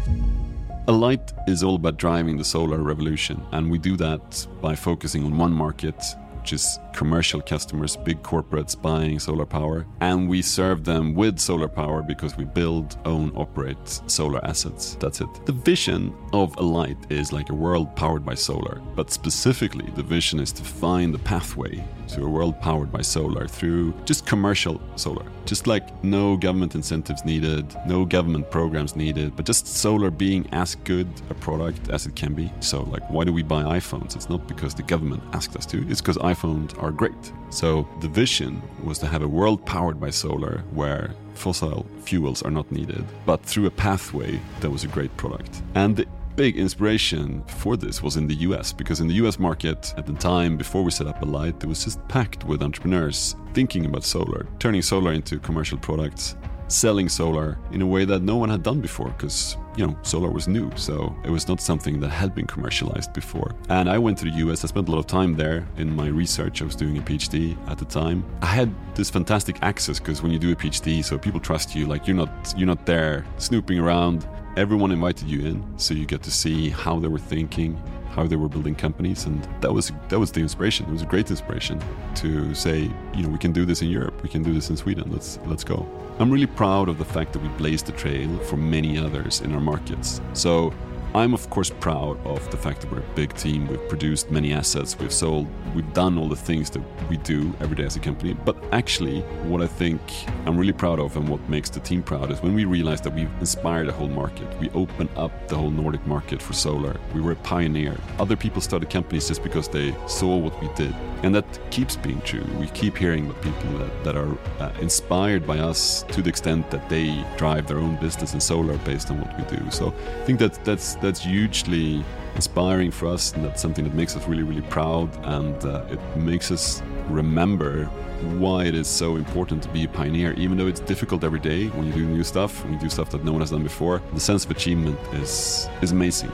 Alight is all about driving the solar revolution, and we do that by focusing on one market, which is commercial customers, big corporates buying solar power. And we serve them with solar power because we build, own, operate solar assets. That's it. The vision of Alight is like a world powered by solar. But specifically, the vision is to find the pathway to a world powered by solar through just commercial solar. Just like no government incentives needed, no government programs needed, but just solar being as good a product as it can be. So like, why do we buy iPhones? It's not because the government asked us to, it's because iPhones are great. So the vision was to have a world powered by solar where fossil fuels are not needed, but through a pathway that was a great product. And the big inspiration for this was in the US, because in the US market at the time before we set up Alight, it was just packed with entrepreneurs thinking about solar, turning solar into commercial products, selling solar in a way that no one had done before, because solar was new, so it was not something that had been commercialized before. And I went to the US, I spent a lot of time there in my research. I was doing a PhD at the time. I had this fantastic access, because when you do a PhD, so people trust you, like you're not there snooping around. Everyone invited you in, so you get to see how they were thinking, how they were building companies, and that was the inspiration. It was a great inspiration to say, we can do this in Europe, we can do this in Sweden. Let's go. I'm really proud of the fact that we blazed the trail for many others in our markets. So I'm of course proud of the fact that we're a big team. We've produced many assets, we've sold, we've done all the things that we do every day as a company. But actually, what I think I'm really proud of and what makes the team proud is when we realized that we've inspired a whole market. We opened up the whole Nordic market for solar. We were a pioneer. Other people started companies just because they saw what we did. And that keeps being true. We keep hearing about people that are inspired by us to the extent that they drive their own business in solar based on what we do. So I think that's hugely inspiring for us, and that's something that makes us really, really proud, and it makes us remember why it is so important to be a pioneer. Even though it's difficult every day when you do new stuff, when you do stuff that no one has done before, the sense of achievement is amazing.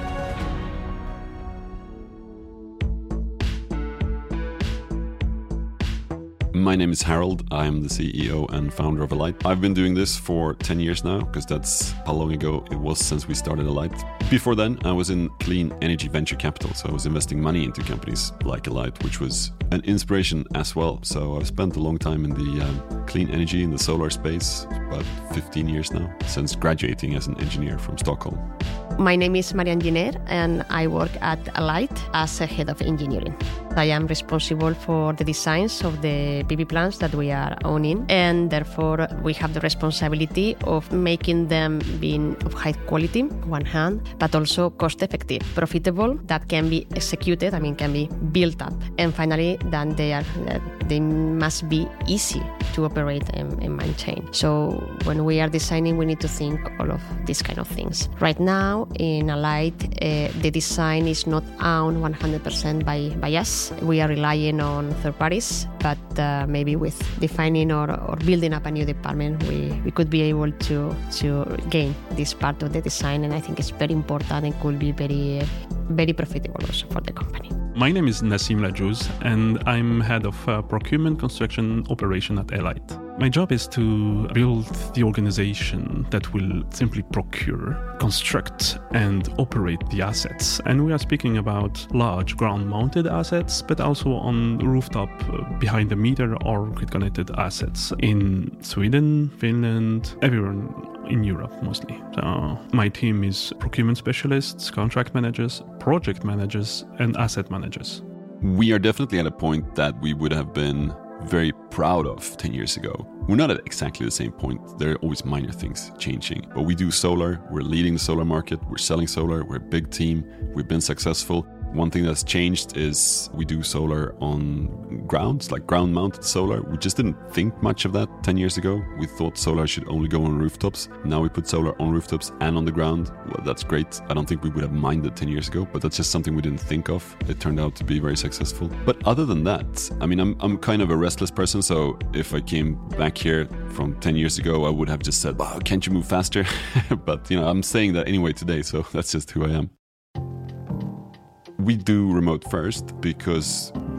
My name is Harold. I am the CEO and founder of Alight. I've been doing this for 10 years now, because that's how long ago it was since we started Alight. Before then, I was in clean energy venture capital, so I was investing money into companies like Alight, which was an inspiration as well. So I've spent a long time in the clean energy, in the solar space, about 15 years now, since graduating as an engineer from Stockholm. My name is Marianne Giner, and I work at Alight as a head of engineering. I am responsible for the designs of the PV plants that we are owning, and therefore we have the responsibility of making them being of high quality, on one hand, but also cost-effective, profitable, that can be executed, can be built up. And finally, then they must be easy to operate and maintain. So when we are designing, we need to think all of these kind of things. Right now, in Alight, the design is not owned 100% by us. We are relying on third parties, but maybe with defining or building up a new department, we could be able to gain this part of the design, and I think it's very important and could be very, very profitable also for the company. My name is Nassim Lajouz, and I'm head of procurement construction operation at Alight. My job is to build the organization that will simply procure, construct, and operate the assets. And we are speaking about large ground-mounted assets, but also on rooftop, behind the meter or grid-connected assets in Sweden, Finland, everywhere in Europe mostly. So my team is procurement specialists, contract managers, project managers, and asset managers. We are definitely at a point that we would have been very proud of 10 years ago. We're not at exactly the same point. There are always minor things changing. But we do solar, we're leading the solar market, we're selling solar, we're a big team, we've been successful. One thing that's changed is we do solar on grounds, like ground-mounted solar. We just didn't think much of that 10 years ago. We thought solar should only go on rooftops. Now we put solar on rooftops and on the ground. Well, that's great. I don't think we would have minded 10 years ago, but that's just something we didn't think of. It turned out to be very successful. But other than that, I'm kind of a restless person, so if I came back here from 10 years ago, I would have just said, wow, can't you move faster? But, I'm saying that anyway today, so that's just who I am. We do remote first because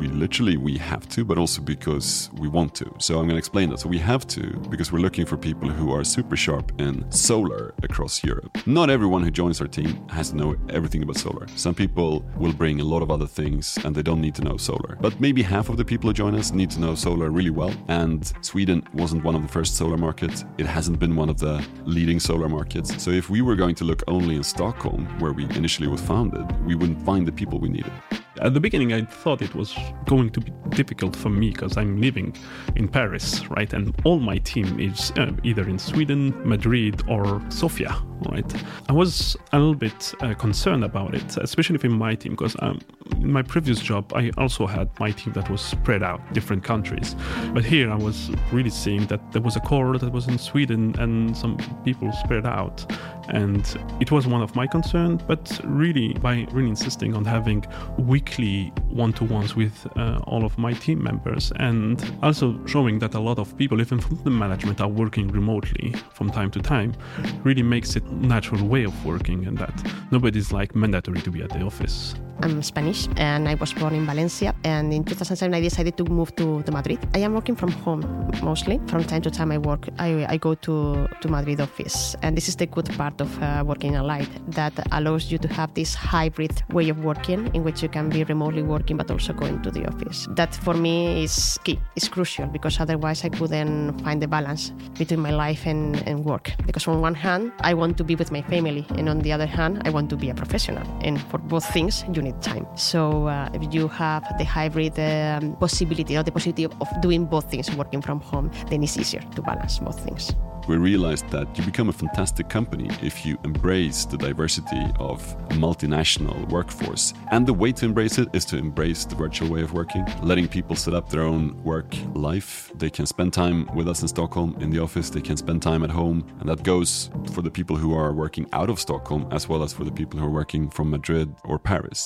we have to, but also because we want to. So I'm going to explain that. So we have to because we're looking for people who are super sharp in solar across Europe. Not everyone who joins our team has to know everything about solar. Some people will bring a lot of other things and they don't need to know solar. But maybe half of the people who join us need to know solar really well. And Sweden wasn't one of the first solar markets. It hasn't been one of the leading solar markets. So if we were going to look only in Stockholm, where we initially was founded, we wouldn't find the people we needed. At the beginning, I thought it was going to be difficult for me because I'm living in Paris, right? And all my team is either in Sweden, Madrid, or Sofia, right? I was a little bit concerned about it, especially in my team, because in my previous job, I also had my team that was spread out, different countries. But here I was really seeing that there was a core that was in Sweden and some people spread out. And it was one of my concerns, but really by really insisting on having weekly one-to-ones with all of my team members, and also showing that a lot of people, even from the management, are working remotely from time to time, really makes it a natural way of working, and that nobody's like mandatory to be at the office. I'm Spanish and I was born in Valencia, and in 2007 I decided to move to Madrid. I am working from home mostly. From time to time I go to Madrid office, and this is the good part of working in Light, that allows you to have this hybrid way of working in which you can be remotely working but also going to the office. That for me is key, it's crucial, because otherwise I couldn't find the balance between my life and work. Because on one hand I want to be with my family, and on the other hand I want to be a professional, and for both things you need time. So if you have the hybrid possibility, or the possibility of doing both things working from home, then it's easier to balance both things. We realized that you become a fantastic company if you embrace the diversity of a multinational workforce. And the way to embrace it is to embrace the virtual way of working, letting people set up their own work life. They can spend time with us in Stockholm in the office, they can spend time at home, and that goes for the people who are working out of Stockholm as well as for the people who are working from Madrid or Paris.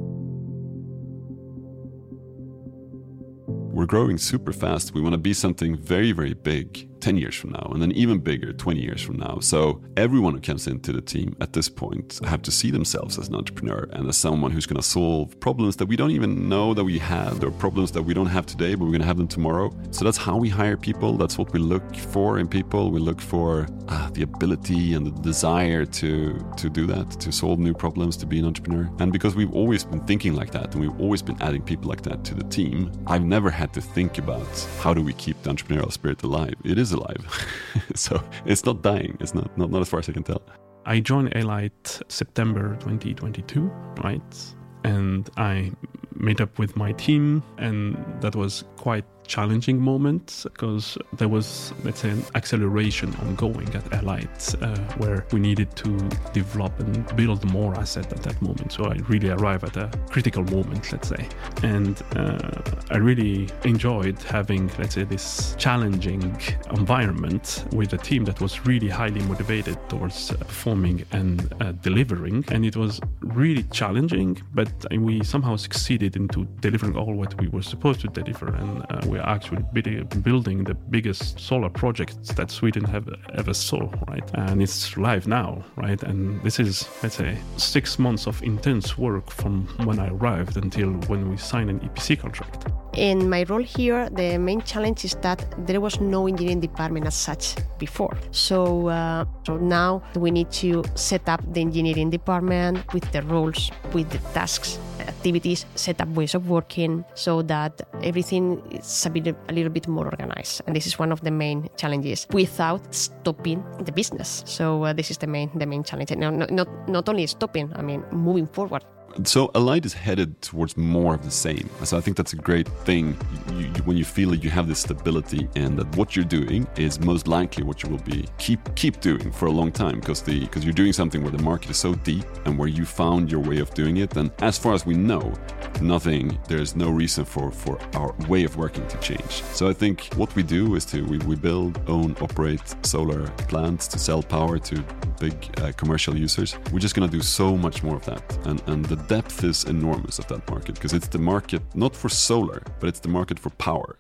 We're growing super fast. We want to be something very, very big 10 years from now, and then even bigger 20 years from now. So everyone who comes into the team at this point have to see themselves as an entrepreneur and as someone who's going to solve problems that we don't even know that we have, or problems that we don't have today, but we're going to have them tomorrow. So that's how we hire people. That's what we look for in people. We look for the ability and the desire to do that, to solve new problems, to be an entrepreneur. And because we've always been thinking like that, and we've always been adding people like that to the team, I've never had to think about how do we keep the entrepreneurial spirit alive. It is alive. So it's not dying. It's not as far as I can tell. I joined Alight September 2022, right? And I met up with my team, and that was quite challenging moment because there was, let's say, an acceleration ongoing at Alight where we needed to develop and build more asset at that moment. So I really arrived at a critical moment, let's say. And I really enjoyed having, let's say, this challenging environment with a team that was really highly motivated towards performing and delivering. And it was really challenging, but we somehow succeeded into delivering all what we were supposed to deliver. And we are actually building the biggest solar project that Sweden have ever saw, right? And it's live now, right? And this is, let's say, 6 months of intense work from when I arrived until when we signed an EPC contract. In my role here, the main challenge is that there was no engineering department as such before. So now we need to set up the engineering department with the roles, with the tasks, activities, set up ways of working so that everything is a little bit more organized. And this is one of the main challenges without stopping the business. So this is the main challenge. Now, not only stopping, I mean, moving forward. So Alight is headed towards more of the same. So I think that's a great thing when you feel that you have this stability and that what you're doing is most likely what you will be keep doing for a long time because you're doing something where the market is so deep and where you found your way of doing it. And as far as we know, there's no reason for our way of working to change. So I think what we do is we build, own, operate solar plants to sell power to big commercial users. We're just going to do so much more of that. And the depth is enormous of that market because it's the market not for solar, but it's the market for power.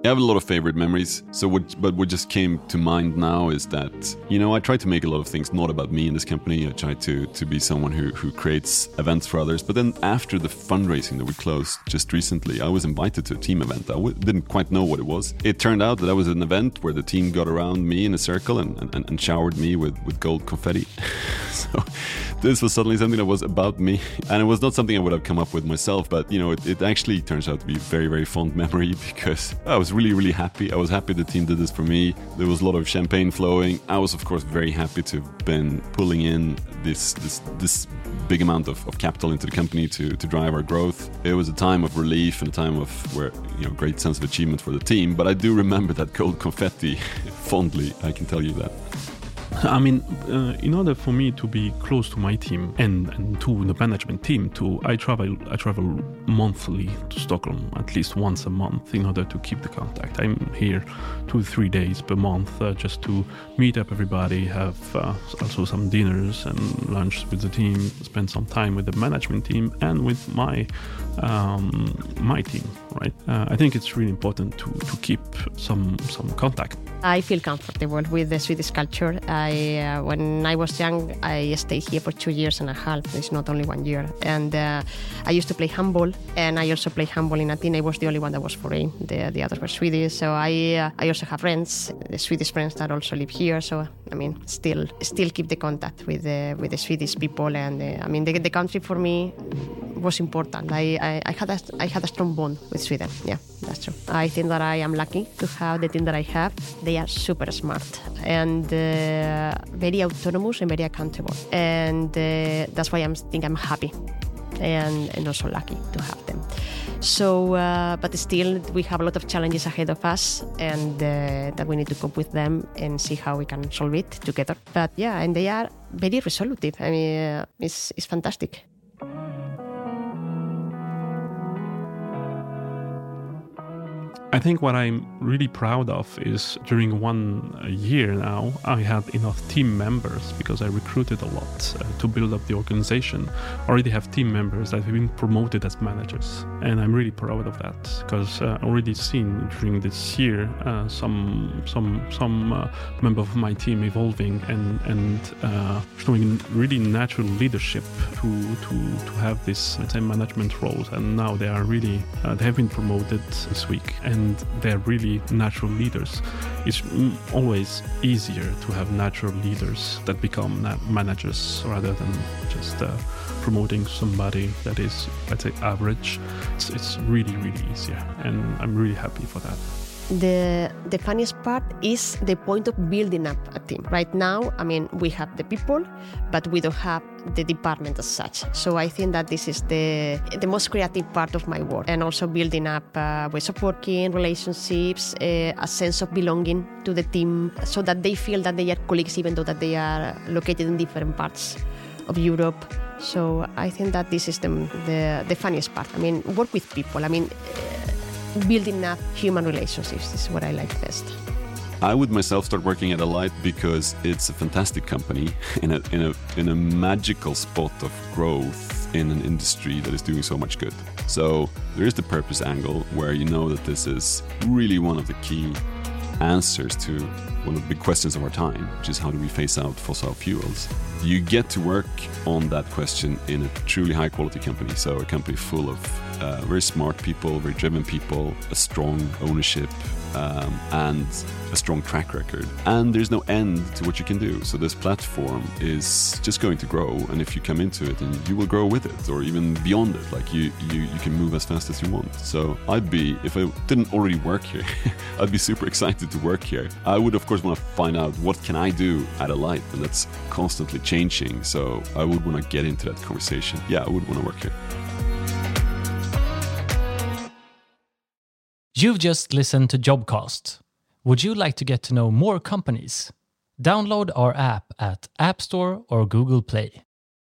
I have a lot of favorite memories. But what just came to mind now is that, I try to make a lot of things not about me in this company. I try to be someone who creates events for others. But then after the fundraising that we closed just recently, I was invited to a team event. I didn't quite know what it was. It turned out that was an event where the team got around me in a circle and showered me with gold confetti. So this was suddenly something that was about me. And it was not something I would have come up with myself. But, it actually turns out to be a very, very fond memory because I was really, really happy. I was happy the team did this for me. There was a lot of champagne flowing. I was, of course, very happy to have been pulling in this big amount of capital into the company to drive our growth. It was a time of relief and a time of great sense of achievement for the team. But I do remember that gold confetti fondly, I can tell you that. I mean, in order for me to be close to my team and to the management team too, I travel monthly to Stockholm, at least once a month, in order to keep the contact. I'm here 2-3 days per month just to meet up everybody, have also some dinners and lunch with the team, spend some time with the management team and with my team, right? I think it's really important to keep some contact. I feel comfortable with the Swedish culture. When I was young, I stayed here for 2 years and a half. It's not only 1 year. And I used to play handball, and I also played handball in a team. I was the only one that was foreign. The others were Swedish. So I also have friends, the Swedish friends that also live here. So I mean, still keep the contact with the Swedish people. And the country for me was important. I had a strong bond with Sweden. Yeah, that's true. I think that I am lucky to have the team that I have. They are super smart and very autonomous and very accountable. And that's why I think I'm happy and also lucky to have them. So, but still, we have a lot of challenges ahead of us, and that we need to cope with them and see how we can solve it together. But yeah, and they are very resolutive. I mean, it's fantastic. I think what I'm really proud of is during 1 year now, I had enough team members because I recruited a lot to build up the organization. I already have team members that have been promoted as managers. And I'm really proud of that because I already seen during this year some member of my team evolving and showing really natural leadership to have this, let's say, management roles. And now they are really, they have been promoted this week. And they're really natural leaders. It's always easier to have natural leaders that become managers rather than just promoting somebody that is, let's say, average. It's really, really easier, and I'm really happy for that. The funniest part is the point of building up a team. Right now, I mean, we have the people, but we don't have the department as such. So I think that this is the most creative part of my work, and also building up ways of working, relationships, a sense of belonging to the team, so that they feel that they are colleagues, even though that they are located in different parts of Europe. So I think that this is the funniest part. I mean, work with people. I mean, building up human relationships is what I like best. I would myself start working at Alight because it's a fantastic company in a magical spot of growth in an industry that is doing so much good. So there is the purpose angle where you know that this is really one of the key answers to one of the big questions of our time, which is how do we phase out fossil fuels? You get to work on that question in a truly high quality company. So a company full of very smart people, very driven people, a strong ownership, and a strong track record. And there's no end to what you can do. So this platform is just going to grow. And if you come into it, and you will grow with it, or even beyond it, like you can move as fast as you want. So if I didn't already work here, I'd be super excited to work here. I would, of course, want to find out what can I do at Alight, and that's constantly changing. So I would want to get into that conversation. Yeah, I would want to work here. You've just listened to Jobcast. Would you like to get to know more companies? Download our app at App Store or Google Play.